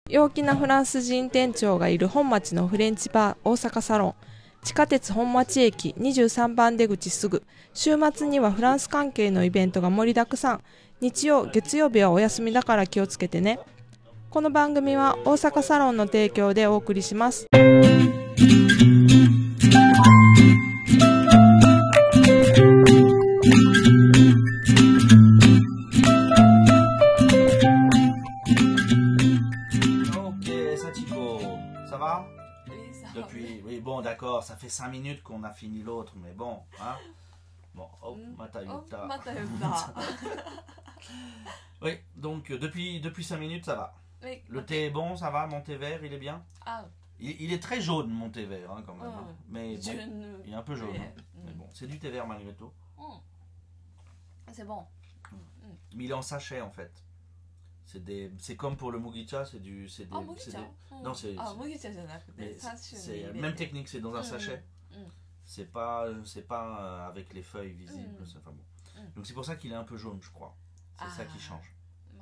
陽気なフランス人店長がいる本町のフレンチバー大阪サロン。地下鉄本町駅23番出口すぐ。週末にはフランス関係のイベントが盛りだくさん。日曜、月曜日はお休みだから気をつけてね。この番組は大阪サロンの提供でお送りします。 Depuis, oui, bon, d'accord, ça fait 5 minutes qu'on a fini l'autre, mais bon, hein. Bon, hop, Mata Yutta. Oui, donc depuis 5 minutes, ça va. Oui, le thé est bon, ça va, mon thé vert, il est bien. Ah. Il est très jaune, mon thé vert, hein, quand même. Hein. Mais bon, il est un peu jaune. Oui. Hein. Mais bon, c'est du thé vert malgré tout. C'est bon. Mais il est en sachet, en fait. C'est comme pour le mugicha, c'est des. Non, c'est. Même technique, c'est dans un sachet. C'est pas avec les feuilles visibles. Enfin, bon. Donc c'est pour ça qu'il est un peu jaune, je crois. C'est ça qui change.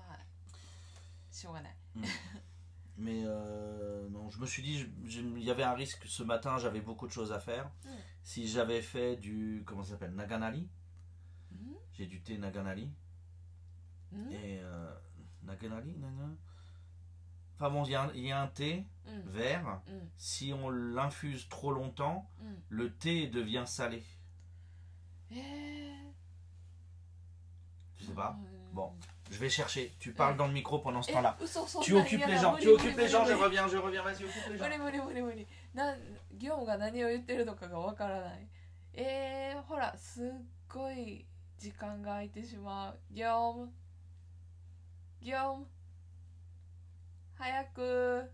Mais non, je me suis dit, il y avait un risque ce matin, j'avais beaucoup de choses à faire. Si j'avais fait du, comment ça s'appelle, Naganari. J'ai du thé Naganari. Et Naganari, enfin bon, il y a un thé vert. Si on l'infuse trop longtemps, le thé devient salé. Je sais pas. Bon, je vais chercher. Tu parles dans le micro pendant ce temps-là. Tu occupes les gens. Je reviens, vas-y, occupe les gens. 業務が何を言ってるのかがわからない。ほら、すっごい時間が空いてしまう。業務早く。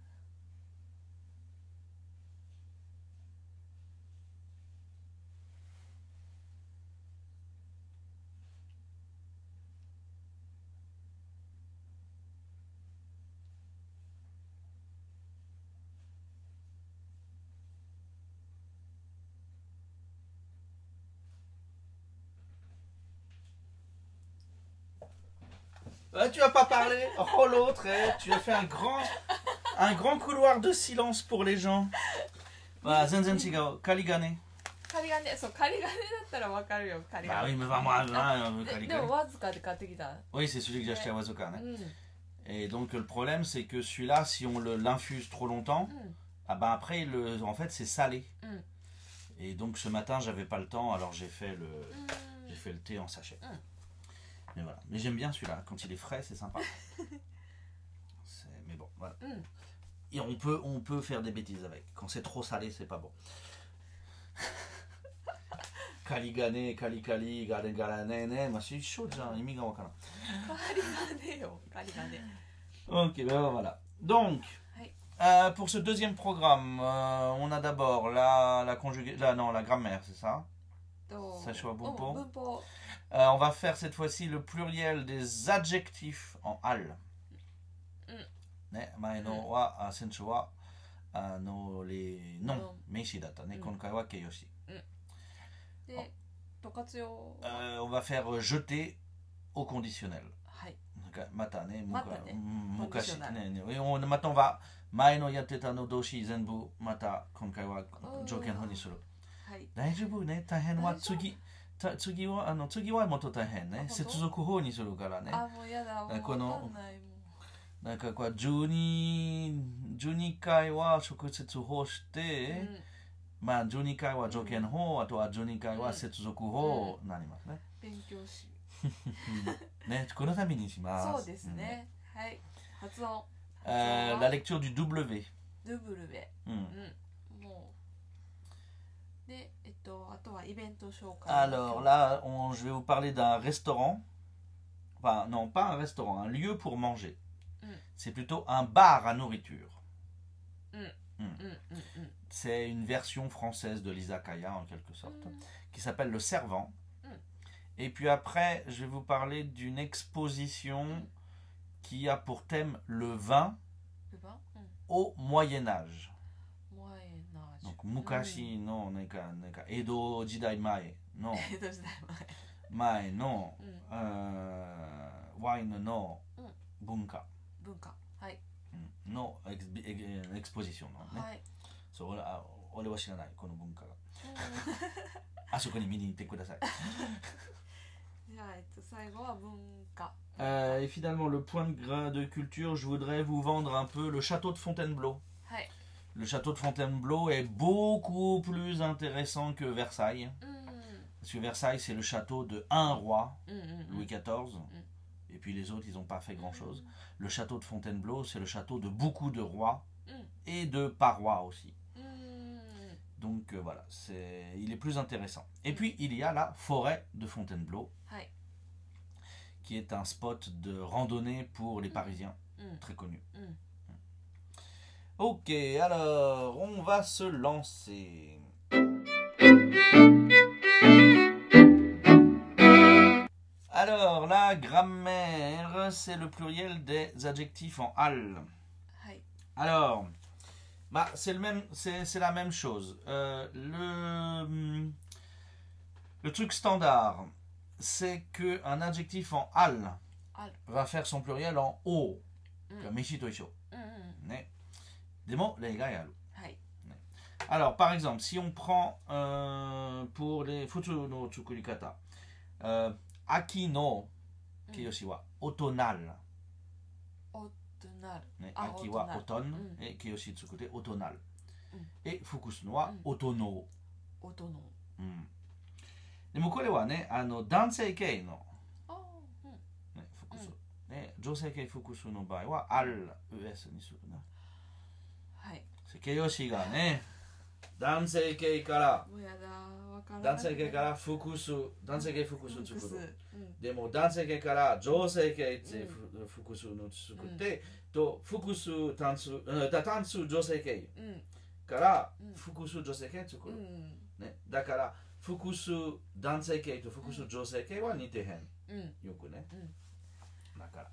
Tu vas pas parler. Oh l'autre, tu as fait un grand couloir de silence pour les gens. Voilà, Zenzen Chigao, Kaligane. 仮金だったらわかるよ。仮金。 Ah oui, mais moi, Kaligane. でもわずかで買ってきた。 Oui, c'est celui que j'ai acheté à Wazoka. Et donc le problème, c'est que celui-là, si on l'infuse trop longtemps, ah ben après, en fait, c'est salé. Et donc ce matin, j'avais pas le temps, alors j'ai fait le thé en sachet. Mais voilà. Mais j'aime bien celui-là. Quand il est frais, c'est sympa. Mais bon, voilà. Et on peut faire des bêtises avec. Quand c'est trop salé, c'est pas bon. Kaligane, Kalikali, Galengalanene, moi c'est chaud déjà, il wakana. Ok, ben voilà. Donc, pour ce deuxième programme, on a d'abord la grammaire, c'est ça? Sachua Bunpo. On va faire cette fois-ci le pluriel des adjectifs en al. Maeno wa sensu wa les noms meishi datta ne konkai wa keiyoshi. On va faire jeter au conditionnel. Mata ne mukashi ne. Maintenant on va maeno yatteta no doshi zenbu mata konkai wa joken hou ni suru. Daijoubu ne, tahen wa tsugi. 次はもっと大変ね。接続法にするからね。 あ、もうやだ。 このなんかこう12回は直接法して、まあ12回は条件法、あとは12回は接続法になりますね。 勉強し。 ね、このためにします。 そうですね。はい。発音。 La lecture du W. W。 Alors là, je vais vous parler d'un restaurant. Enfin, non, pas un restaurant, un lieu pour manger. C'est plutôt un bar à nourriture. C'est une version française de l'izakaya, en quelque sorte, qui s'appelle le Servant. Et puis après, je vais vous parler d'une exposition qui a pour thème le vin au Moyen-Âge. Donc, mukashi no Edo jidai mae no mae no wine no bunka. のエクスポジションのね、 はい、 そう俺は知らないこの文化が。 うんあそこに見に行ってください。 じゃあ、最後は文化。 Et finalement, le point de culture, je voudrais vous vendre un peu le château de Fontainebleau. はい、 Le château de Fontainebleau est beaucoup plus intéressant que Versailles. うん Parce que Versailles, c'est le château de un roi, うんうん Louis XIV. Et puis les autres, ils n'ont pas fait grand-chose. Le château de Fontainebleau, c'est le château de beaucoup de rois et de parois aussi. うん Donc voilà, il est plus intéressant. Et puis, il y a la forêt de Fontainebleau, はい、 qui est un spot de randonnée pour les Parisiens, うん très connu. うん Ok, alors, on va se lancer. Alors, la grammaire, c'est le pluriel des adjectifs en al. はい、 Alors, bah, c'est la même chose. Le truc standard, c'est qu'un adjectif en al ある、 va faire son pluriel en o. うん Comme Mishi to isho. うんうん、 Ne. Des mots, les gars, yaru. はい、 Alors, par exemple, si on prend pour les futsu no tsukurikata, aki no kiyoshi wa otonal. おとなる、 Ne, あ aki wa otonal. oton et kiyoshi tsukute otonal. Et fukusu no wa Mm. otono. 音の、 でもこれはね、男性形の、 ああ、うん、 ね、複数、ね、女性形複数の場合は、al、us にするな。 はい、 形容詞がね、男性形から、 もうやだ、わからない。 男性形から複数、男性形複数作る。 うん、 でも男性形から女性形って複数の作って、と複数単数、単数女性形うん、 から複数女性形作る。 うん、 ね、だから複数男性形と複数女性形は似てへん、 うん、 よくね、だから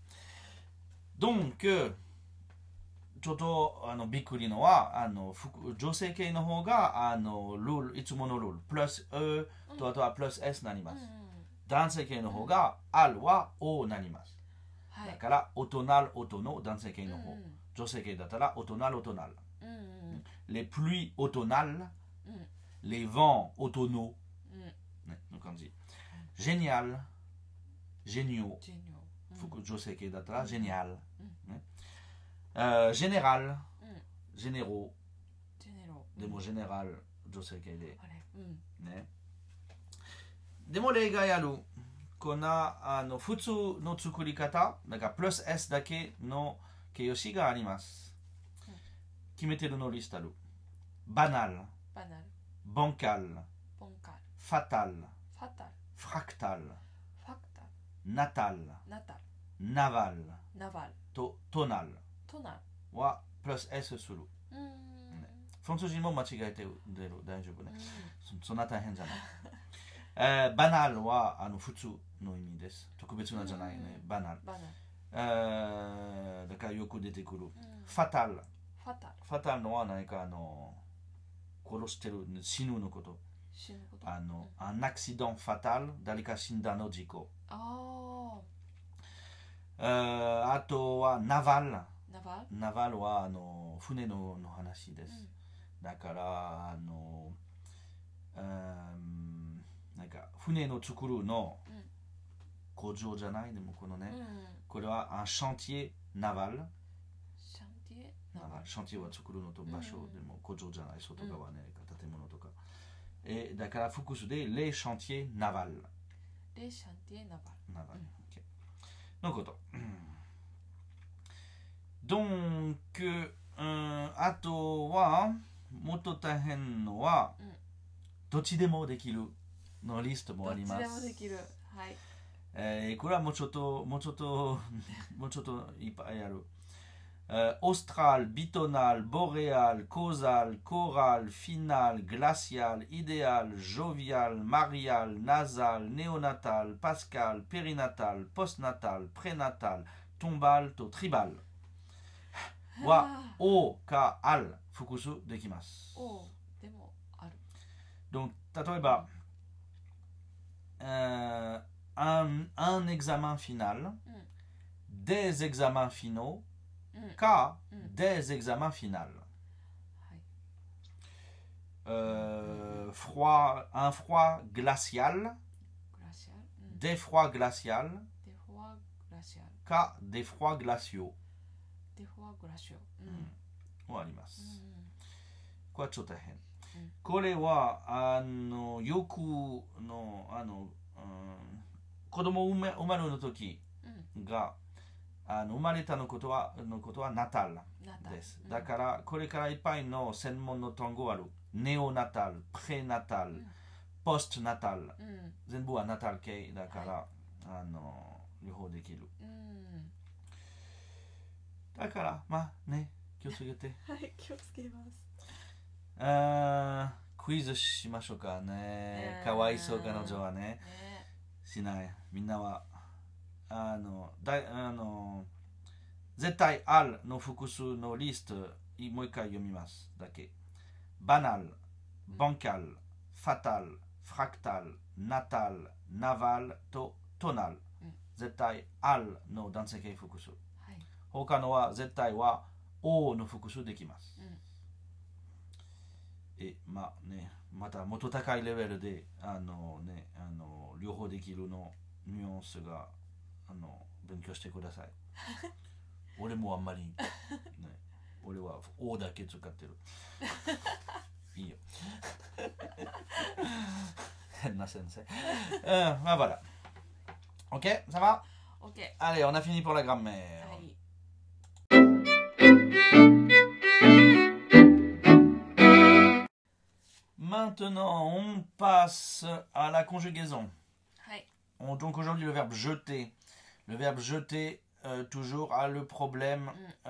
donc ちょっとびっくりのは女性形の方がルールいつものルールプラス E とあとはプラス S になります、男性形の方が AL は O になります、 はい、 だからオトナルオトの男性形の方、女性形だったらオトナルオトナル、les pluies automnales, les vents automnaux, ね、の感じ。génial, géniaux, ジェニ女性形だったら génial, ね、général, généraux, ジェネロ、 でも général 女性形で、 あれ、 ね。でも例外ある。この普通の作り方、だからプラス S だけの形容詞があります。決めてるのリストある。banal, バナル、 bancal, ボンカル、 fatal, ファタル、 fractal, ファクタル、 natal, ナタル、 naval ナバル、 と tonal トナル、 はプラス S する。フランス人も間違えてる。大丈夫ね。そんな大変じゃない。バナルは普通の意味です。特別なじゃないね。バナル。 バナル、 だからよく出てくる。ファタル。 ファタル、 ファタルのは何か殺してる、死ぬのこと。 死ぬこと、 un accident fatal、誰か死んだの事故。 ああとはナバル。 ー、ナバル、 ナバルは船の話です。だからなんか船の作るの工場じゃないでもこのね、これはun chantier naval。 シャンティエ、ナバル、 シャンティエは作るのと場所でも工場じゃない、外側ね、建物とか。だから複数でles chantiers navals。 レシャンティエ、ナバル、 ナバル。のこと。donc あとはもっと大変のは、どっちでもできるのリストもあります。 どっちでもできる、はい、 これはもうちょっといっぱいある。austral, bitonal, boréal, causal, choral, final, glacial, idéal, jovial, marial, nasal, néonatal, pascal, périnatal, postnatal, prénatal, tombal と tribal は O か al 複数できます。 おでもある。 Donc 例えば、un examen final, des examens finaux か、 うん、 des examens finaux. はい、 Froid, un froid glacial, グラシアル、 des froids glacial, デフォアグラシアル、 か des froids glaciaux デフォアグラシオ、 もあります。 うんこれはちょっと変。 うんこれはよくの子供生まれの時が生まれたのことはナタルナタルです。だからこれからいっぱいの専門の単語ある。ネオナタル、プレナタル、ポストナタル、全部はナタル系だから、両方できる。だからまあね、気をつけて。 はい、気をつけます。 クイズしましょうかね。かわいそう彼女はね。しない。みんなは絶対あるの複数のリストもう一回読みますだけ。バナル、バンカル、ファタル、フラクタル、ナタル、ナバルとトナル。絶対あるの男性形複数。他のは絶対は O の複数できます。まあね、またもっと高いレベルで両方できるのニュアンスが勉強してください。俺もあんまり、ね、俺は O だけ使ってる。いいよ。変な先生。まあvoilà. Ok, ça va? OK。 Allez, on a fini pour la grammaire. はい。 Maintenant, on passe à la conjugaison. はい。 Donc aujourd'hui, le verbe jeter. Le verbe jeter, toujours, a le problème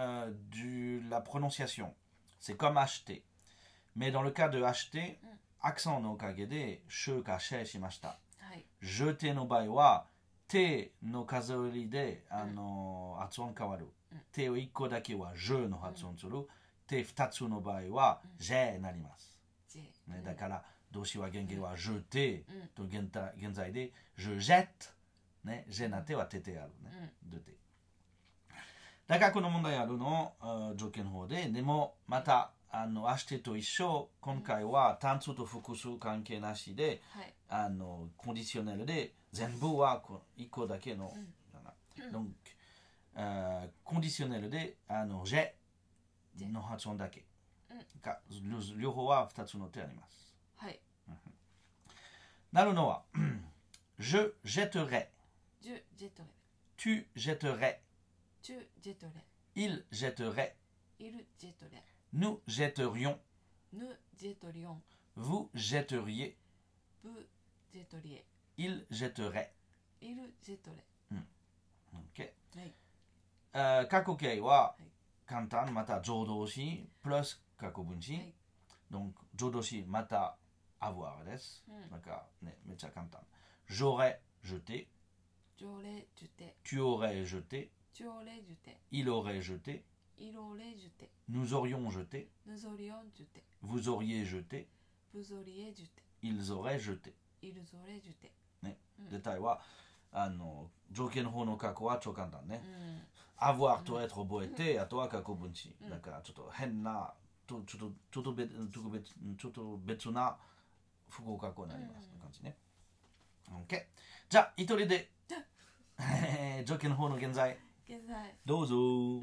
de la prononciation. C'est comme acheter. Mais dans le cas de acheter, accent no kage de shu ka she shimashita. はい。 jeter no bai wa te no kazouri de hatsuon kawaru. Te o 1個だけは je の発音する。te 2つの場合は je になります。ね、だから動詞は原型は jeter と現在で je jette ね、je なてはててあるね、でて。だからこの問題あるの条件法で、でもまたアシテと一緒、今回は単数と複数関係なしで、コンディショネルで全部は1個だけの、doncコンディショネルでje の発音だけ。両方は2つの手あります。 はい。 なるのはje jetterai, je jetterai, tu jetterais, tu jetterais, il jetterait, il jetterait, nous jetterions, nous jetterions, vous jetteriez, vous jetteriez, il jetterait. il jetterait. OK、 はい。 過去形は簡単、また助動詞プラス過去分詞、donc 助動詞またavoirです。だからね、めっちゃ簡単。j'aurais jeté, j'aurais jeté, tu aurais jeté, tu aurais jeté, il aurait jeté, il aurait jeté, nous aurions jeté, nous aurions jeté, vous auriez jeté, vous auriez jeté, ils auraient jeté。 ils auraient jeté。 ね、デタイは条件の方の過去は超簡単ね。avoir と être 覚えて、あとは過去分詞。だからちょっと変な、ちょっと別な複合過去になります。感じね。OK。じゃあ、一人で条件の方の現在。 現在。 どうぞ。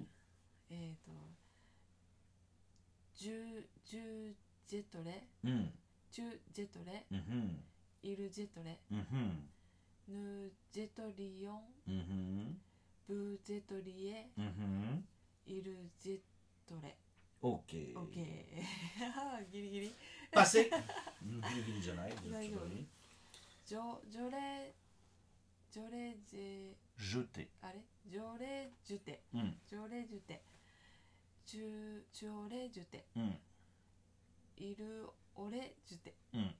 ジェトレ、チュジェトレ、イルジェトレ、ヌジェトリオン、ブジェトリエ、イルジェトレ。 OK。 ギリギリ。 パセ。ギリギリじゃない。 大丈夫。ジョレジェ。 ジュテ。 あれ？ジョレジュテ。ジョレジュテ。チョレジュテ。イルオレジュテ。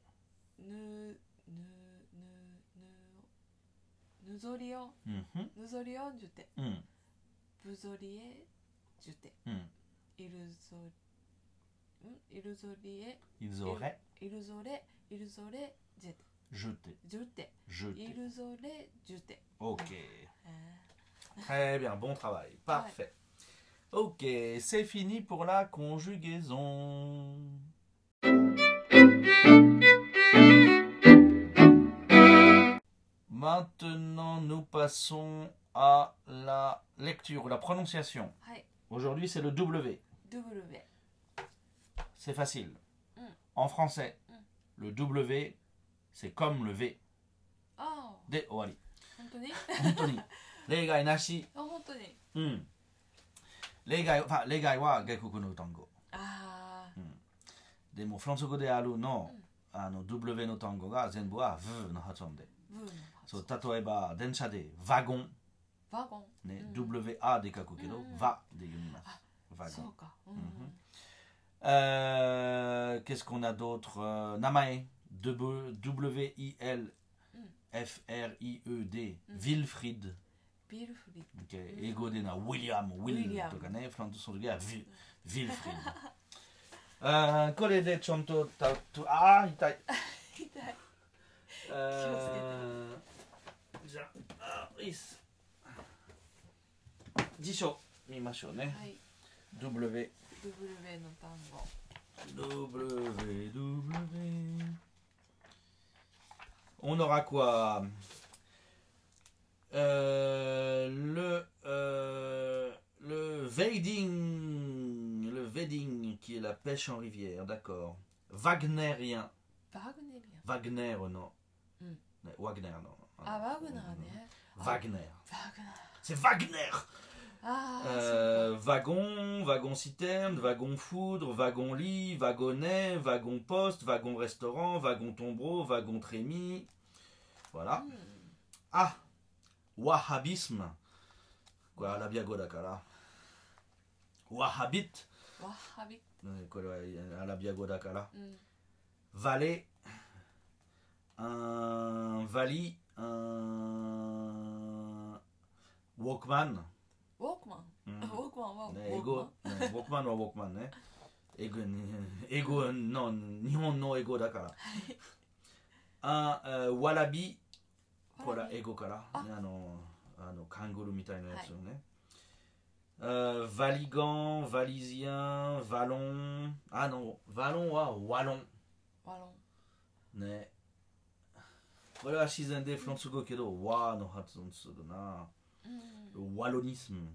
ヌゾリオン。ヌゾリオンジュテ。ブゾリエジュテ。イルゾリエ。 イルゾレジェテ。 jeter. Ils auraient jeté. Ok. Très bien, bon travail. Parfait. Ok, c'est fini pour la conjugaison. Maintenant, nous passons à la lecture, la prononciation. はい Aujourd'hui, c'est le W. W C'est facile. Mm. En français, le W, c'est comme le V. ああで、終わり。 本当に本当に。例外なし。 あ本当にうん。例外は外国の単語。 ああでも、フランス語であるの、W の単語が全部は V の発音で。 ブーのそう例えば、電車でワゴン。 ワゴンね、 うん WA で書くけど、 うん va で読みます。ワゴン。 そうか Qu'est-ce qu'on a d'autre Namae. WILFRIED. Wilfried. ビルフリッ Okay. 英語でな、William とかね、フランス語ではWilfried。これでちゃんと痛い。 痛いじゃあ、いいっす。辞書見ましょうね。 はい W W の単語 On aura quoi le vading qui est la pêche en rivière, d'accord. Wagnérien. バグネリアン Wagner, non. Mm. Wagner, non. あワグナーね Wagner. バグナー C'est Wagner. ああ Wagon, wagon-citerne, wagon-foudre, wagon-lit, wagonnet, wagon-poste, wagon-restaurant, wagon-tombereau, wagon-trémie. Voilà. Ah, wahhabisme. Quoi, la biago dakara. Wahhabite. ワッハビこれはアラビア語だから。 うん Valet, un vali, un walkman. ウォークマンうんウォークマンはウね、 ォークマン英語、ね、ウォークマンはウォークマンね。英語の日本の英語だから。ワラビ、これは英語から。 あカングルーみたいなやつをね。ワリガン、ワリジアン、ワロン。ワロンはワロン。 ワロンね。これは自然でフランス語けど、ワの発音するな。ワロニスム。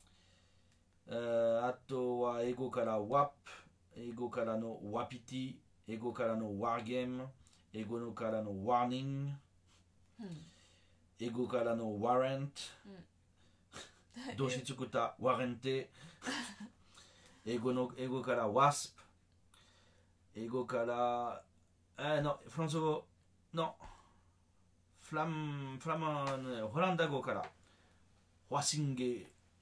あとは英語からワップ、英語からのワピティ、英語からのワーゲーム、英語からのワーニング、英語からのワレント、動詞作ったワレンテ、英語からワスプ、英語からフランス語のホランダ語からワシング、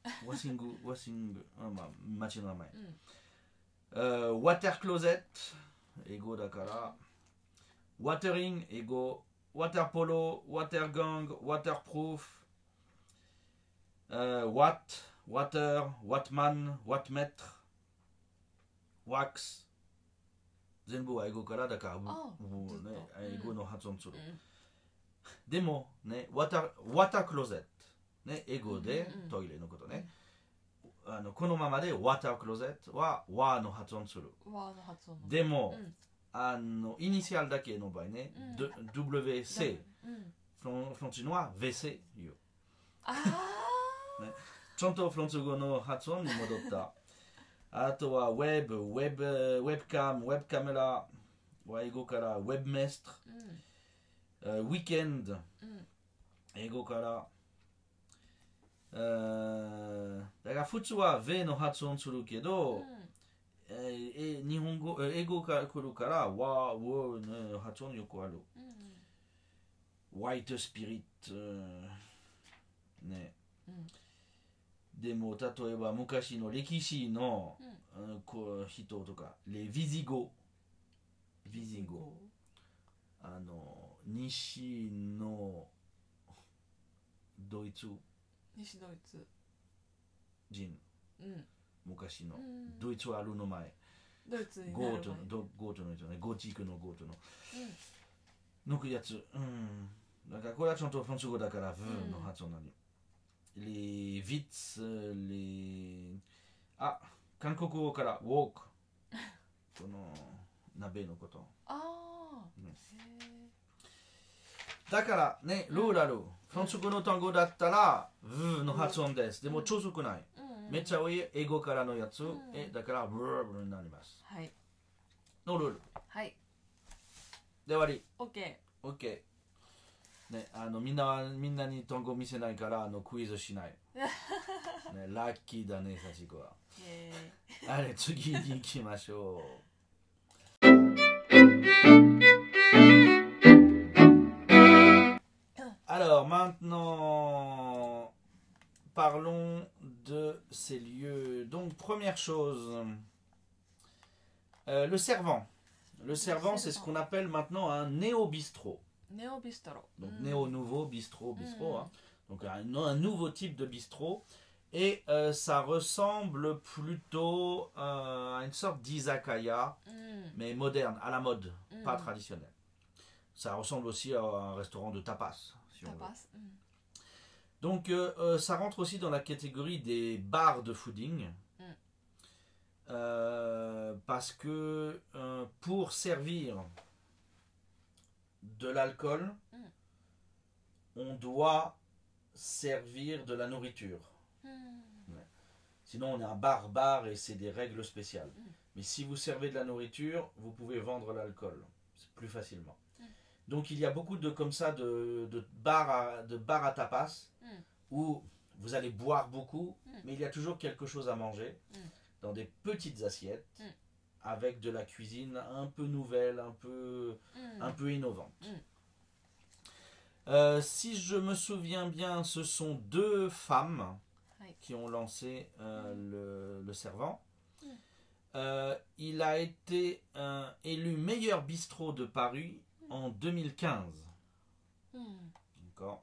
町の名前。ワタークローゼット、英語だから。ワタリング、英語。ワターポロ、ワターガング、ワタープルーフ。ワター、ワトマン、ワトメット。ワックス。全部は英語からだから、英語の発音する。でも、ね、ワタークローゼット。ね、英語でトイレのことね。このままでワタークローゼットはワの発音する。 ワの発音でも、イニシャルだけの場合ね、WC、フランス語は VC 言う。ちゃんとフランス語の発音に戻った。あとはウェブカメラ、英語からウェブメスト、ウィーケンド、英語からだから普通は V の発音するけど、日本語、英語から来るからワーの発音よくある。ホワイトスピリット、ね。でも例えば昔の歴史の人とか、レヴィジゴ、西のドイツ人、昔の、ドイツはあるの前、 ドイツになゴる前ートの人ね、ゴチークのゴートの、抜くやつ、だからこれはちゃんとフランス語だから、V の発音なの。les vits, あ、韓国語からウォーク。この鍋のこと。 ああ、 うんへだからね、ルーラル。フランス語の単語だったら、ブーの発音です。でも、超少ない。 え、うんうん、 めっちゃ多い英語からのやつ。 んだから、ブーブーになります。 はい、 のルール。 はい、 で終わり。 オッケ OK。ね、みんなに単語見せないから、クイズしない。ね、ラッキーだね、幸子は。 ー。 あれ、次に行きましょう。Alors maintenant, parlons de ces lieux. Donc première chose, le servant. Le servant, c'est ce qu'on appelle maintenant un néo-bistrot. ネオビストロ。 Donc うん néo-nouveau, bistrot, bistrot. Mm. Hein. Donc un nouveau type de bistrot. Et ça ressemble plutôt à une sorte d'izakaya, うん。 mais moderne, à la mode, pas Mm. traditionnelle. Ça ressemble aussi à un restaurant de tapas, si タ on veut. パス。うん。 Donc ça rentre aussi dans la catégorie des bars de fooding. Parce que pour servir de l'alcool, on doit servir de la nourriture. うん。 Sinon on est un bar-bar et c'est des règles spéciales. Mm. Mais si vous servez de la nourriture, vous pouvez vendre l'alcool plus facilement. Mm. Donc il y a beaucoup de comme ça de bars à tapas Mm. où vous allez boire beaucoup, Mm. mais il y a toujours quelque chose à manger Mm. dans des petites assiettes Mm. avec de la cuisine un peu nouvelle, un peu innovante. Mm. Si je me souviens bien, ce sont 2 femmes Ouais. qui ont lancé le servant. Mm. Il a été élu meilleur bistrot de Paris en 2015. うん。 D'accord.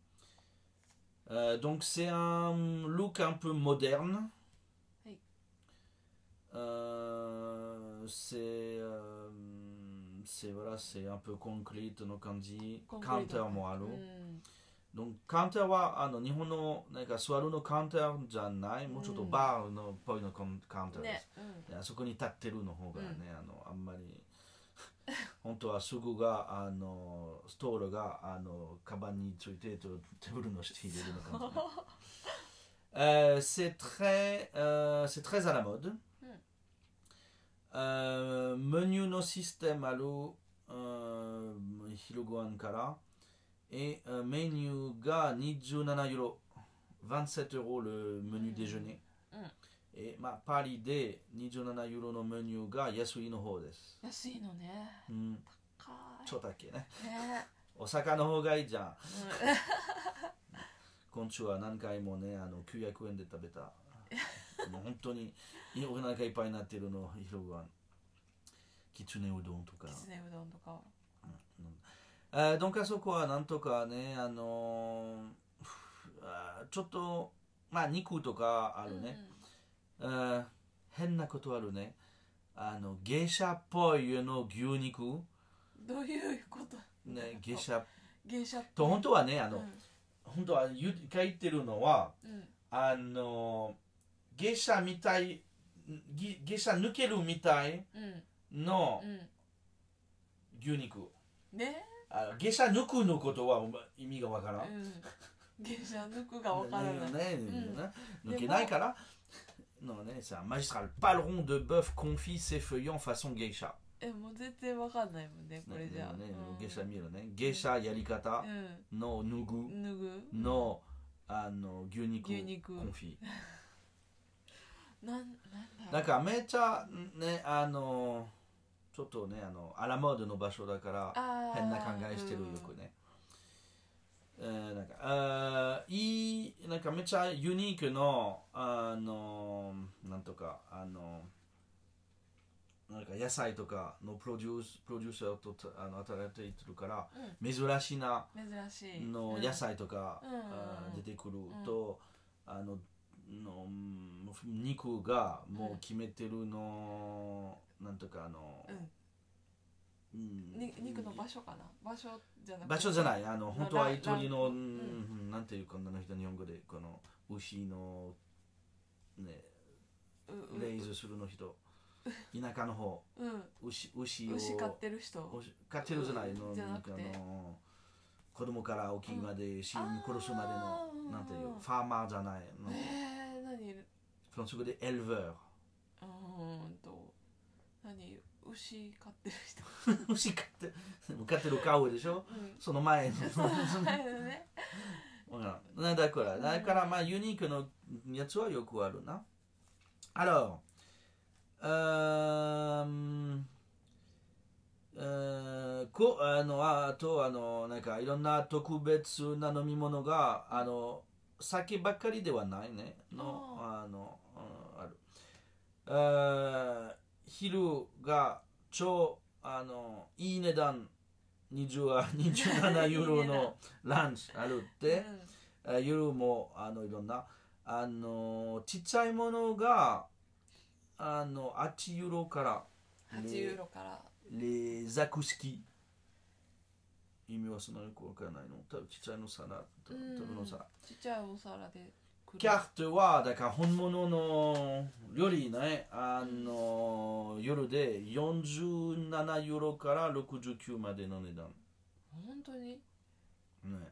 Donc c'est un look un peu moderne. Oui. C'est voilà, c'est un peu concrete no kanji. コンクリート。 Counter mo aru. うん。 Donc counter wa Nihon no nanka swaru no counter じゃない、もうちょっとバーのっぽいのカウンターでねす。。 うん。 であそこに立ってるの方がね、あんまり本当はすぐがストールがカバンについてテーブルの下に入れるのかもね。c'est très à la mode. Menu no système ある昼ご飯から。Etメニューが27ユーロ、27 euros le menu déjeuner. Et まあパリで27ユーロのメニューが安いの方です。 安いのね。 うん、 高い。 ちょっとだけね。 ね。 お魚の方がいいじゃん。 うん。 今週は何回もね、900円で食べた。もう本当にお腹いっぱいになってるの昼ご飯。きつねうどんとか。 きつねうどんとか。 donc あそこはなんとかね、ちょっとまあ肉とかあるね、変なことあるね、芸者っぽいの牛肉、 どういうことね、芸者と本当はね、本当は書いてるのは、芸者みたい、芸者抜けるみたいの牛肉、 ね。 芸者抜くのことは意味がわからん。 芸者抜くがわからない。 抜けないから。Non, c'est un magistral paleron de bœuf confit s'effeuillant façon geisha. もう全然わかんないもんね、これじゃあ。 ゲシャ見るね。ゲシャやり方の脱ぐの牛肉コンフィ。なんかめっちゃね、ちょっとね、アラモードの場所だから変な考えしてるよくね。なんかめっちゃユニークのなんとかなんか野菜とかのプロデューサーと働いているから、珍しいなの野菜とか出てくると、の肉がもう決めてるの、なんとか肉の場所かな、場所じゃなくて、 場所じゃない、本当は鳥の、なんていうこんなの人日本語でこの牛のねレイズするの人、田舎の方、牛を牛飼ってる人、 飼ってるじゃないの、 じゃなくて子供から大きいまで死に殺すまでの、なんていうファーマーじゃないの、 何フランス語でエルヴェー、 何牛飼ってる人牛飼ってるカウでしょ、その前のねだからまあユニークのやつはよくあるな。Alorsあとなんかいろんな特別な飲み物が酒ばっかりではないねある。昼が超いい値段27ユーロのランチあるって、夜もいろんなちっちゃいものが8ユーロからレザクスキ意味はそんなによくわからないの。多分ちっちゃいの皿多分の皿ちっちゃいお皿でキャフトはだから本物のよりね夜で47ユーロから69までの値段。 本当にね、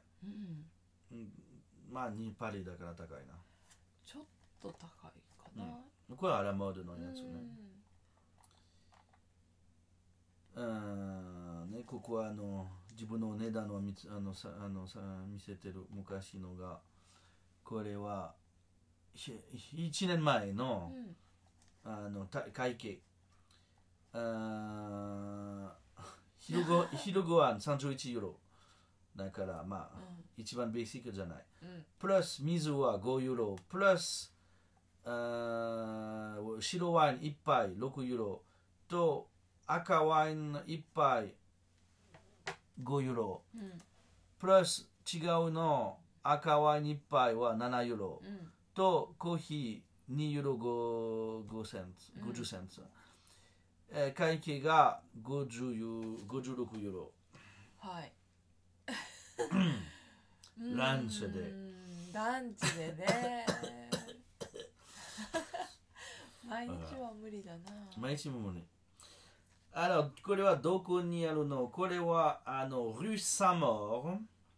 まあ2パリだから高いな。 ちょっと高いかな、 これはアラモードのやつね。ね、ここは自分の値段を見せてる昔のがこれは1年前の、会計昼ごはん31ユーロだからまあ、一番ベーシックじゃない、プラス水は5ユーロプラス白ワイン1杯6ユーロと赤ワイン1杯5ユーロ、プラス違うの赤ワイン1杯は7ユーロ、とコーヒー2ユーロ50センツ、会計が56ユーロ、 はい。 ランチでね毎日は無理だな。 毎日も無理。これはどこにあるの？これはrue Saint-Maur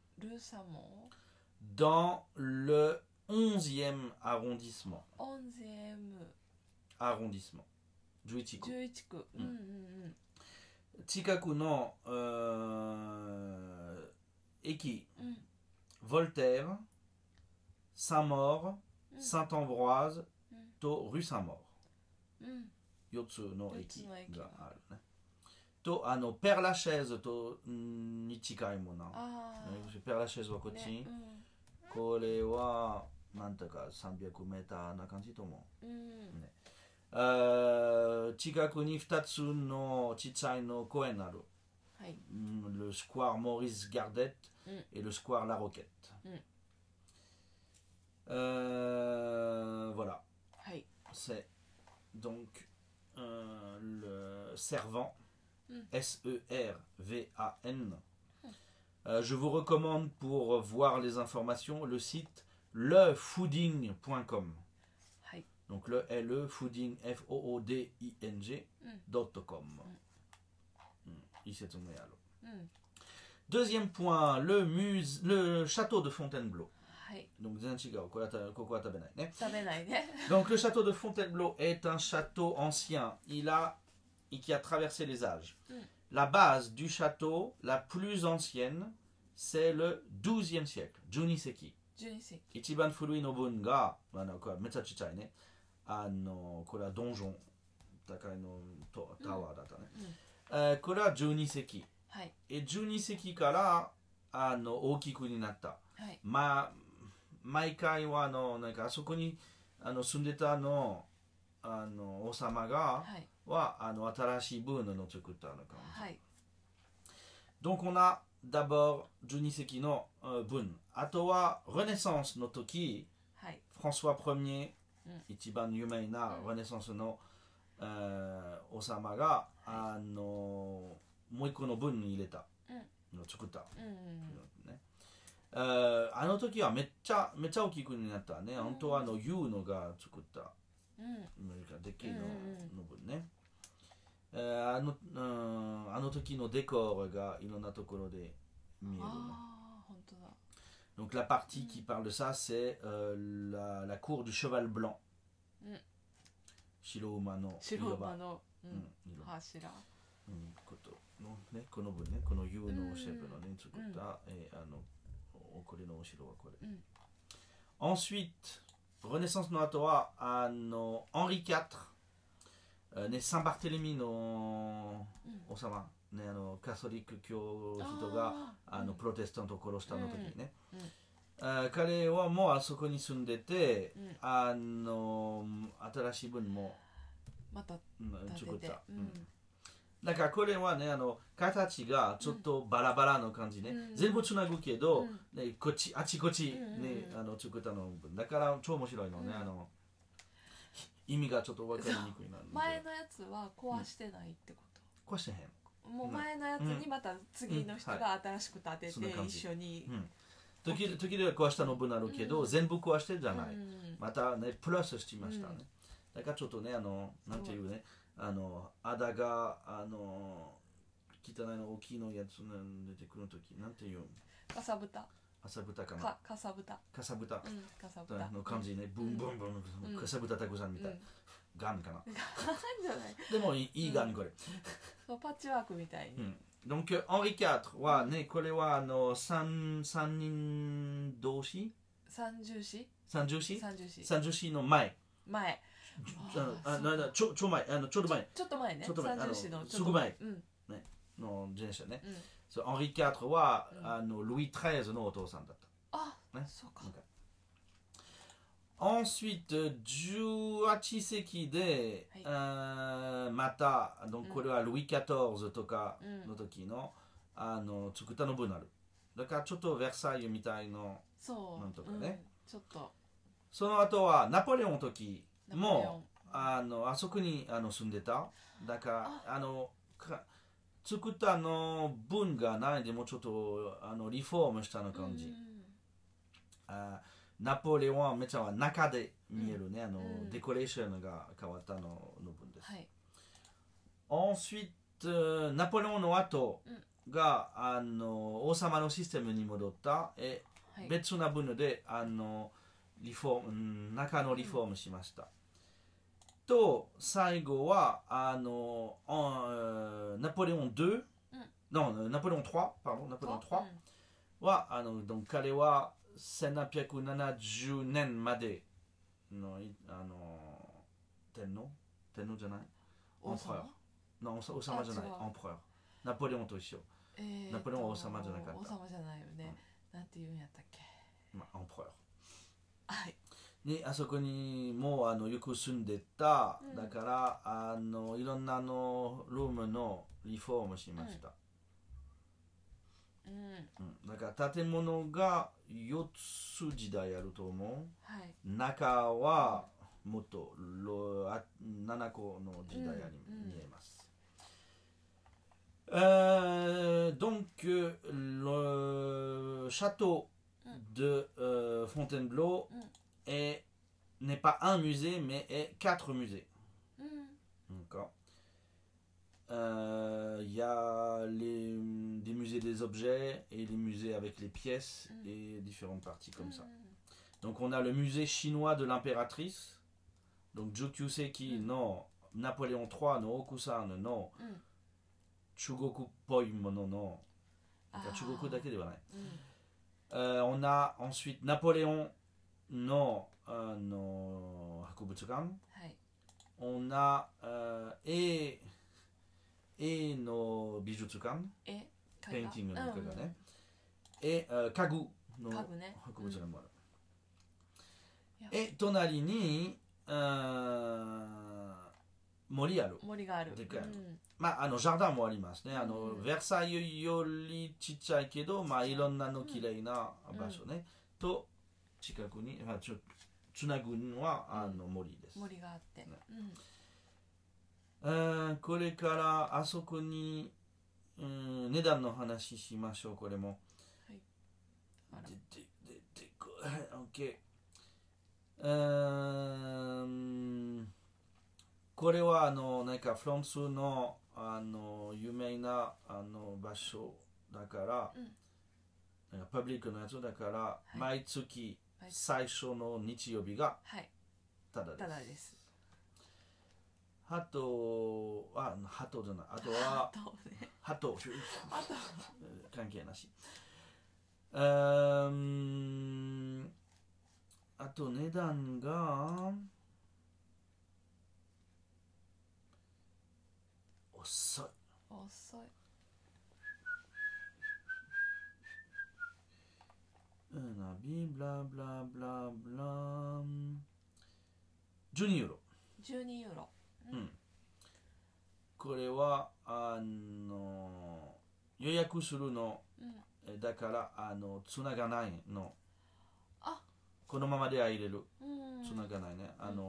dans le 11e arrondissement 11区、近くの駅、Voltaire、Saint-Maur、Saint-Ambroise と rue Saint-Maur、4つの駅があるね。とペアラシェーズとに近いもの。ペアラシェーズはこっち、これはなんとか300メーターな感じと思う、近くに2つのちっちゃいの公園ある、le square Maurice Gardette et le square La Roquette、voilà、c'est donc le Servan, Servan. Je vous recommande pour voir les informations le site lefooding.com. Donc le fooding fooding.com. Deuxième point, le château de Fontainebleau. Donc donc le château de Fontainebleau est un château ancien, qui a traversé les âges. La base du château, la plus ancienne, c'est le 12e siècle, Juniseki. Ichiban furui no bun ga, metsa chichai ne, これはドンジョン高いのタワーだったね、これは12世紀、12世紀から大きくになった、毎回はなんかあそこに住んでた王様が、は新しいブームの作ったのかも、Donc on a d'abord 12世紀の文、あとはレネサンスの時、フランソワ 1er、一番有名なレネサンスの、王様がもう一個の文に入れた、作った、あの時はめっちゃ大きくになったね、本当はユーノが作ったでっけえの分ね。あの時のデコーがいろんなところで見えるの。 本当だ。 Donc la partie qui parle de ça, c'est la cour du cheval blanc. 白馬の白馬の柱。ことのね、この分ね、この U のシェフのね、作った、これの後ろはこれ。Ensuite, Renaissance の後はHenri IV、ね、サンバルテレミの王様、ね、カソリック教人がプロテスタントを殺したの時にね、彼はもうあそこに住んでて、新しい文もまた作った。だからこれはね、形がちょっとバラバラの感じね、全部つなぐけど、ね、こっちあちこち、ね、作ったのだから超面白いのね、意味がちょっと分かりにくいな。 前のやつは壊してないってこと？ 壊してへん。 もう前のやつにまた次の人が新しく建てて一緒に。 時々壊したの分あるけど、全部壊してじゃない。またね、プラスしてましたね。だからちょっとね、なんていうね、あだが汚いの大きいのやつ出てくるとき、なんていうかさぶた。 かさぶたかな。 かさぶた。 かさぶた。 かさぶたの感じね、ブンブンブン、かさぶたたくさんみたい。ガンかな。 ガンじゃない。 でもいいガンこれ。 パッチワークみたいに。 Donc Henri IV はね、これは三人同士三重視三重視の前。ちょっと前。 ちょっと前ね。三重視のすぐ前の前者ね。Henri IV はルイ13のお父さんだった。 あ、そうか。 Ensuite 18世紀でまたこれはルイ14とかの時の作ったの分ある。だからちょっとベルサイユみたいのなんとかね。 ちょっと。 その後はナポレオンの時もあそこに住んでた。だから作ったの分がないでもちょっとリフォームしたの感じ。ナポレオンはめちゃ中で見えるね、デコレーションが変わったの分です。Ensuite、ナポレオンの後が、王様のシステムに戻った。別な分でリフォーム、中のリフォームしました。と、最後はナポレオン2、ナポレオン3、ナポレオン3は、donc彼は1870年までの天皇じゃない王様じゃない王様ナポレオンと一緒。ナポレオンは王様じゃなかった。 王様じゃないよね。なんて言うんやったっけ。 はい。であそこにもよく住んでた。だからいろんなルームのリフォームしました。だから建物が4つ時代あると思う。中はもっと7個の時代に見えます。Donc le château de Fontainebleau n'est pas un musée mais est 4 musées. D'accord. Il y a des musées des objets et les musées avec les pièces et différentes parties comme ça. Donc on a le musée chinois de l'impératrice. Donc Jukyuseki no Napoléon III no Okusan no Chugoku poi mono no. Chugoku dake de wa nai. On a ensuite Napoléon no Hakubutsukan. On a etの美術館、ペインティングの絵がね、家具の博物館もある。隣に森ある。 森がある。 でかい。まあジャーダンもありますね。ベルサイユよりちっちゃいけど、まあいろんなの綺麗な場所ね。と近くにつなぐのは森です。 森があって。 これからあそこに、値段の話しましょう。これも。はい。OK。 これはなんかフランスの有名な場所だから、なんかパブリックのやつだから、毎月最初の日曜日がただです。 ただです。 ハトは、ハトじゃない、あとは、ハト、関係なし。あと値段が、遅い。 遅い。 ビブラブラブラブラ12ユーロ。 12ユーロ。 これは予約するの、だからつながないの。このままでは入れる。つながないね。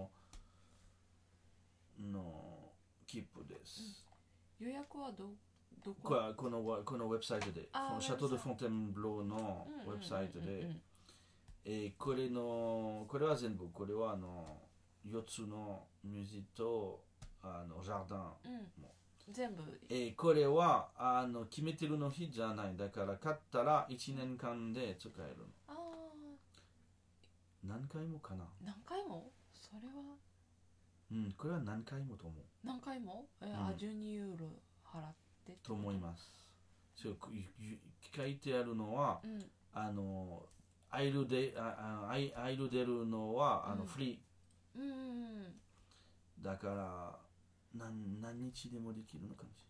切符です。 予約はどこ？ このウェブサイトで、シャトー・ド・フォンテンブローのウェブサイトで、これは全部、これは4つの水とジャーダンも。 全部。 これは決めてるの日じゃない。だから買ったら1年間で使えるの。何回もかな。 何回も？それは。 これは何回もと思う。 何回も12ユーロ払ってと思います。書いてあるのは、アイル出るのはフリー。だから何日でもできるのかもし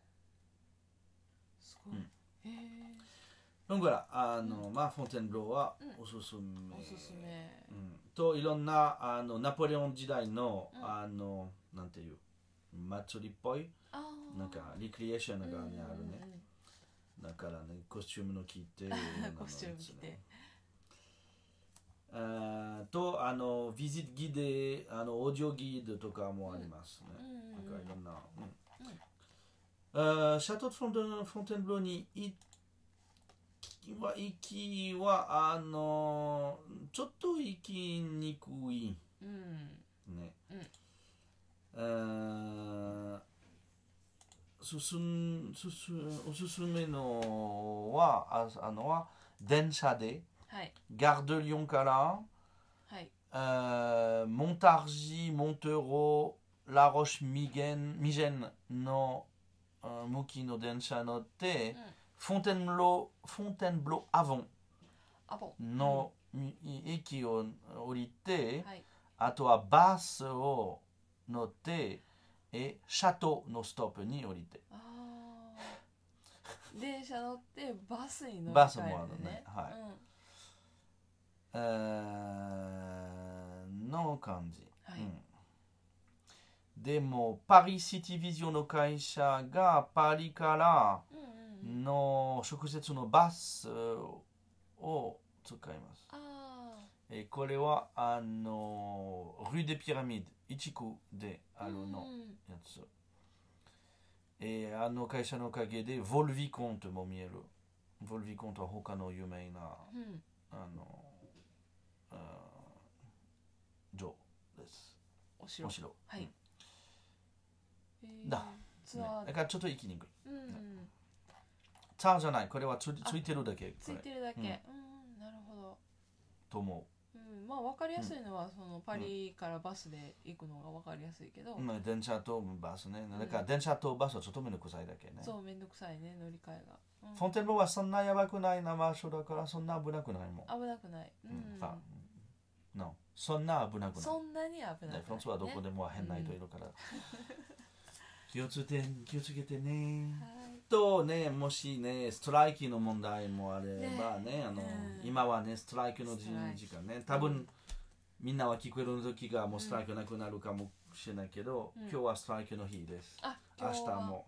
れない。すごい。 だからまあフォンテンブローはおすすめ。といろんなナポレオン時代のなんていう祭りっぽいなんかリクリエーションがあるね。だからねコスチュームの着てコスチューム着て。 とビジットギデオーディオギードとかもありますね。なんかいろんな。シャトー・フォンテンブローに行きはちょっと行きにくい、ね。おすすめのは電車で、ガードリョンから、モンタージ、モンテロ、ラロシミゲンの向きの電車乗って、フォンテンブローアボンの駅を降りて、あとはバスを乗って、シャトーのストップに降りて。 電車乗ってバスに乗り換えるね。 バスもあるね。の感じ。でもパリシティビジョンの会社がパリからの直接のバスを使います。これはル・デ・ピラミッド1区であるのやつ。会社のおかげでヴォル・ヴィコントも見える。ヴォル・ヴィコントは他の有名な城です。お城。だからちょっと行きにくい。ツアーじゃない。これはついてるだけ。 ついてるだけ。なるほど。 と思う。 まあ分かりやすいのはそのパリからバスで行くのが分かりやすいけど。 電車とバスね。だから電車とバスはちょっとめんどくさいだけね。 そうめんどくさいね乗り換えが。 フォンテンブローはそんなやばくないな場所だからそんな危なくないもん。 危なくない。 そんな危なくない。 そんなに危なくない。 フランスはどこでも変な人いるから。気をつけてね。とね、もしね、ストライキの問題もあればね、今はね、ストライキの時間ね、多分みんなは聞こえる時がもうストライキなくなるかもしれないけど、今日はストライキの日です。明日も。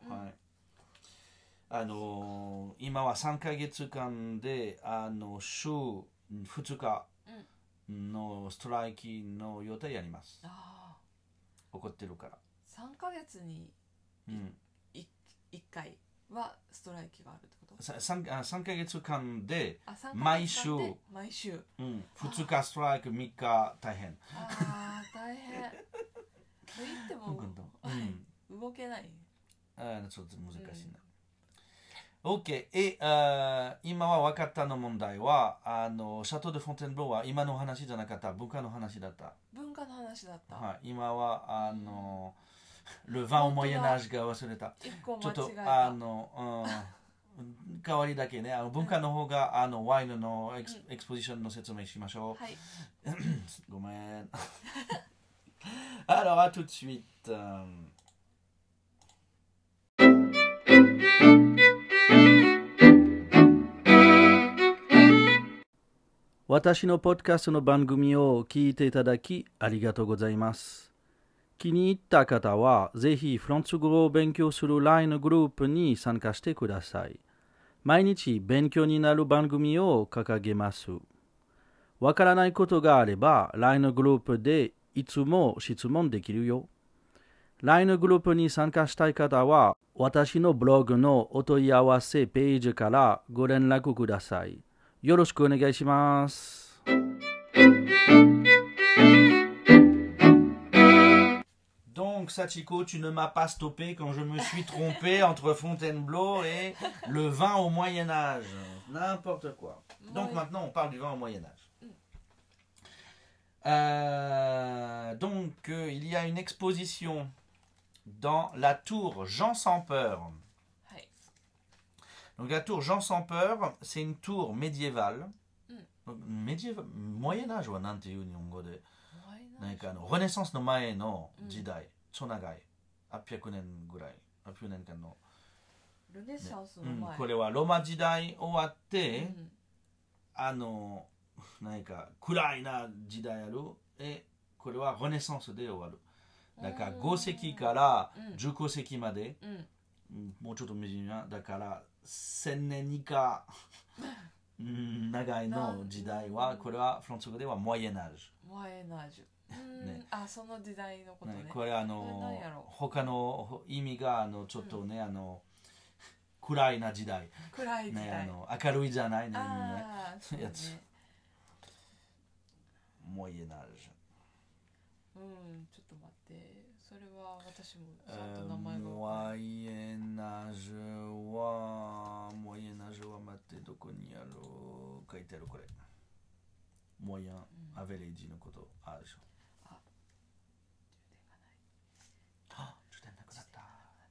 今は3ヶ月間で週2日のストライキの予定やります。起こってるから。 3ヶ月に1回はストライキがあるってこと？ 3ヶ月間であ、3ヶ毎週、 月間で毎週。 2日ストライク、3日大変。 ああ、大変。と言っても、動けない。 ちょっと難しいな。OK。今は分かったの問題は、シャトー・ド・フォンテンブローは今の話じゃなかった、文化の話だった。 文化の話だった。 はい、今は、ルヴァン・オ・モイエナージが忘れた。 一個ちょっと、 間違えた。 代わりだけね、文化の方が、ワインのエクスポジションの説明しましょう。 はい。 ごめん。Alors, à tout de suite. 私のポッドキャストの番組を聞いていただきありがとうございます。気に入った方はぜひフランス語を勉強する LINE グループに参加してください。毎日勉強になる番組を掲げます。わからないことがあれば LINE グループでいつも質問できるよ。LINE グループに参加したい方は私のブログのお問い合わせページからご連絡ください。よろしくお願いします。Donc, Sachiko, tu ne m'as pas stoppé quand je me suis trompé entre Fontainebleau et le vin au Moyen-Âge. N'importe quoi. Donc, maintenant, on parle du vin au Moyen-Âge. Il y a une exposition dans la tour Jean sans peur. Donc, la tour Jean sans peur, c'est une tour médiévale. Moyen-Âge ou Renaissance no mae no jidai, 超長い。800年ぐらい。800年間の。 ルネサンスの前。 これはローマ時代終わって、何か暗いな時代ある。これはルネサンスで終わる。だから5世紀から15世紀まで、もうちょっと短い。だから1000年以下長いの時代は、これはフランス語ではモイエナージュ。 モイエナージュ。 ね、 その時代のことね。 これ他の意味がちょっとね、暗いな時代。 暗い時代。 ね、明るいじゃないね。 やつ。 モイエナージュ。ちょっと待って。それは私もちゃんと名前が。 モイエナージュは待って、どこにある？書いてあるこれ。モイアン、アベレージのことあるでしょ。充電なくなった。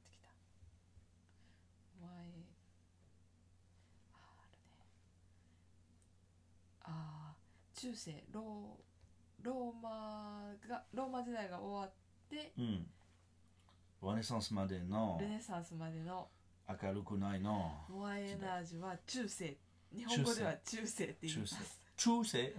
中世ローマ時代が終わって、 ルネサンスまでの明るくないのモアエナージュは中世。日本語では中世って言います。 中世、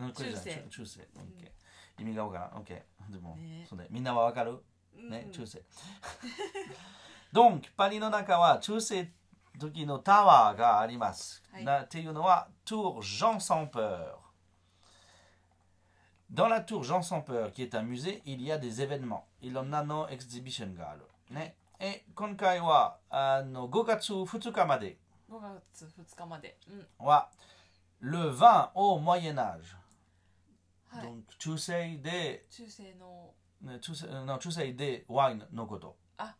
意味がわからん。OK。でも、そうね、みんなはわかるね、中世。Donc、パリの中は中世時のタワーがあります。っていうのは、Tour Jean sans peur。Dans la tour Jean sans peur, qui est un musée, il y a des événements. いろんなのエキシビションがある。ね。今回は5月2日まで。 5月2日まで。 は、le vin au Moyen-Âge。Donc、中世で、中世でワインのこと。 はい。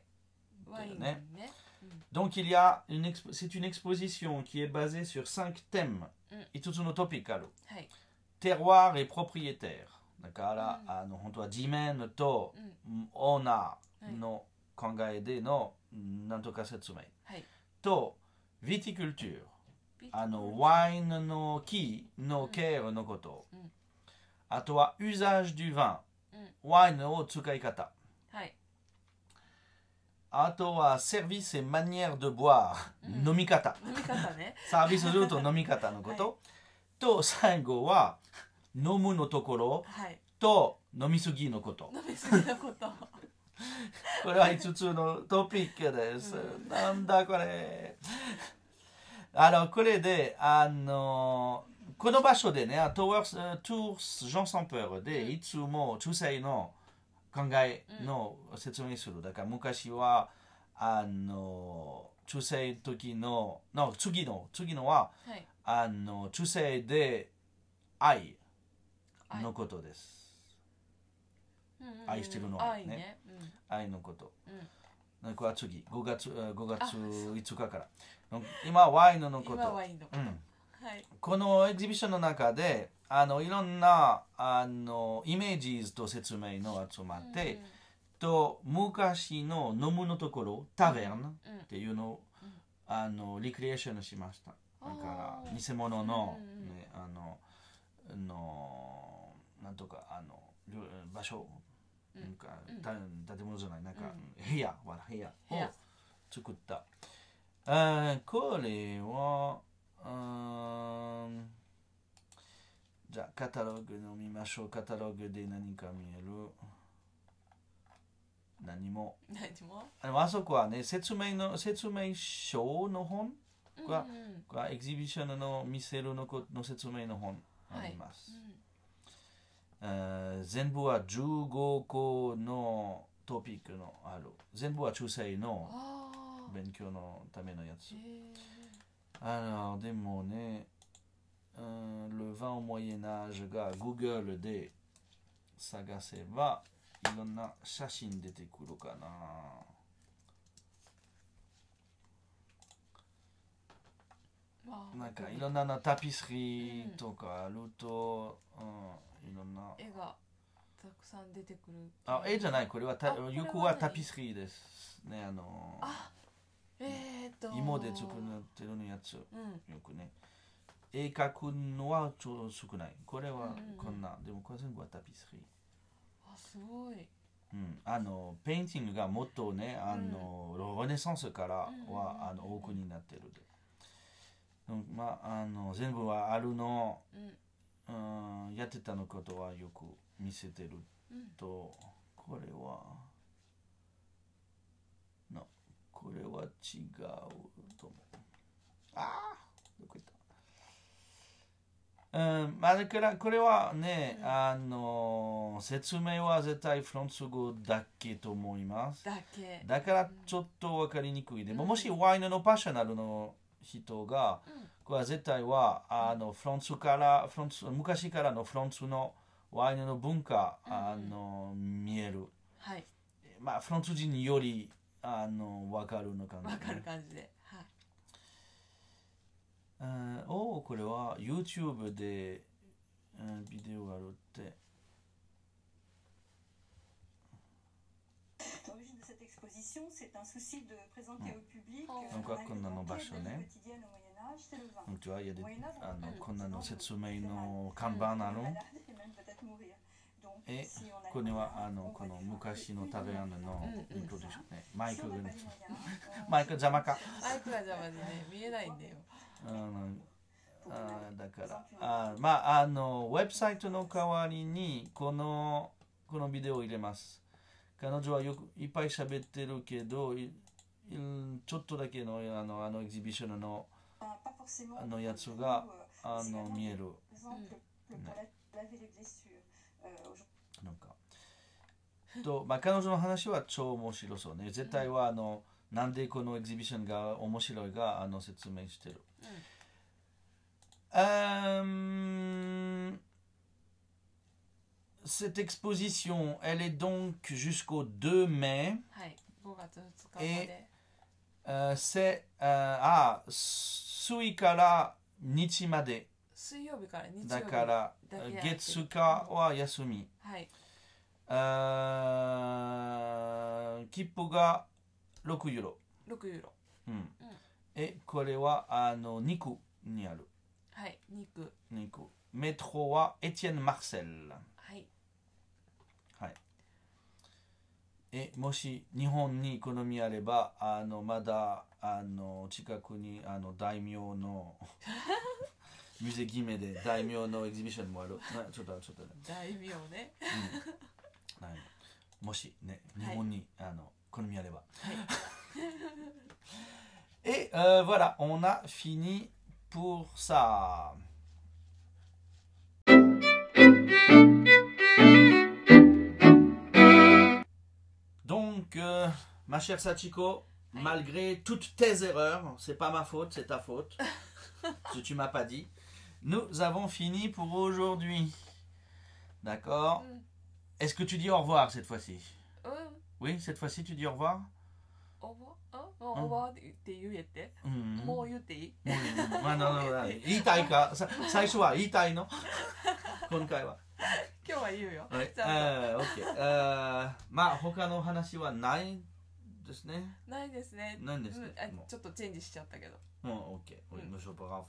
ワインね。 Donc, c'est une exposition qui est basée sur 5 thèmes. 5つのトピックある。terroir et propriétaire。だから、本当は地面とオーナーの考えでのなんとか説明。と、viticulture。ワインの木のケアのこと。あとは、usage du vin。ワインの使い方。あとは、service et manière de boire。飲み方。サービスすると飲み方のこと。と、最後は、飲むのところと飲みすぎのこと。これは5つのトピックです。なんだこれ。これで、この場所でね、トゥース・ジョン・サンペーでいつも中世の考えの説明する。だから昔は、 中世時の次のははい中世で愛のことです。愛してるの愛ね。 愛ね。 愛のこと。 うんこれは次、5月5日から。今はワインのこと。 今ワインのこと。 うんはい。 このエキシビションの中でいろんなイメージと説明の集まって、と昔の飲むのところタベルンっていうのを、リクリエーションしました。だから偽物の、ね、なんとか場所、なんか建物じゃない、なんか部屋を作った。これはじゃあカタログの見ましょう。カタログで何か見える？何も。あそこはね、説明書の本が、エキシビションの見せるの説明の本あります。全部は15個のトピックのある。全部は中世の勉強のためのやつ。でもね、le vin au Moyen Âge が Google で探せばいろんな写真出てくるかな。なんかいろんなタピスリーとかあると、いろんな絵がたくさん出てくる。 絵じゃない、これはよくはタピスリーですね。芋で作ってるのやつ、よくね。絵描くのはちょっと少ない。これはこんな、でもこれ全部はタピスリー。 すごい。 ペインティングがもっとね、ルネサンスからは多くになってるで。全部はあるの、やってたのことはよく見せてると、これは違うと思う。どこ行った？だからこれはね、説明は絶対フランス語だけと思います。だからちょっと分かりにくいで、もしワインのパッショナルの人が、これは絶対は昔からのフランスのワインの文化、見える。フランス人により分かるのかな。 分かる感じで。 これは YouTube で、ビデオがあるって。なんかこんなの場所ね。こんなの説明の看板ある。これはこの昔の食べ物のイントロデューションね。マイクが邪魔か。 マイクが邪魔でね、見えないんだよ。 だからウェブサイトの代わりにこのビデオを入れます。彼女はよくいっぱい喋ってるけど、ちょっとだけのエキシビションのやつが見える。なんか彼女の話は超面白そうね。絶対はなんでこのエキシビションが面白いが説明してる。Cette exposition, elle est donc jusqu'au 2 mai. Et c'est 水から日まで。 水曜日から日曜日だから月火は休み。切符が6ユーロ。これは肉にある。肉。メトロはエティエン・マルセル。もし日本に好みあればまだ近くに大名のミュゼギメで大名のエキシビションもある。ちょっとね。 大名ね。 もしね日本に好みあれば。Et voilà, on a fini pour ça. Donc, ma chère Sachiko, malgré toutes tes erreurs, c'est pas ma faute, c'est ta faute. Parce que tu m'as pas dit. Nous avons fini pour aujourd'hui. D'accord. Est-ce que tu dis au revoir cette fois-ci? Oui, cette fois-ci tu dis au revoir? おばおばって言えて、もう言っていい？ まあ、言いたいか最初は言いたいの今回は。 今日は言うよ。 はい。OK。まあ他の話はないですね。 ないですね。 ないんですね。 ちょっとチェンジしちゃったけど。 OK。Monsieur Brave。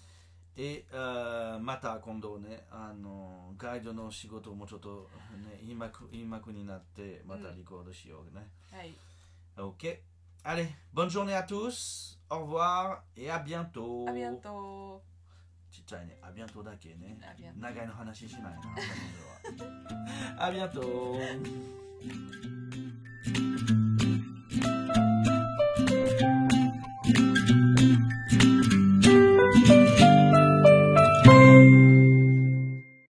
また今度ね、ガイドの仕事もちょっとね、言いまくになってまたリコードしようね。 はい。 OK. Allez, bonne journée à tous. Au revoir et à bientôt. À bientôt. ちっちゃいね。あbientôtだけね。 À bientôt. 長いの話しないな。あbientôt.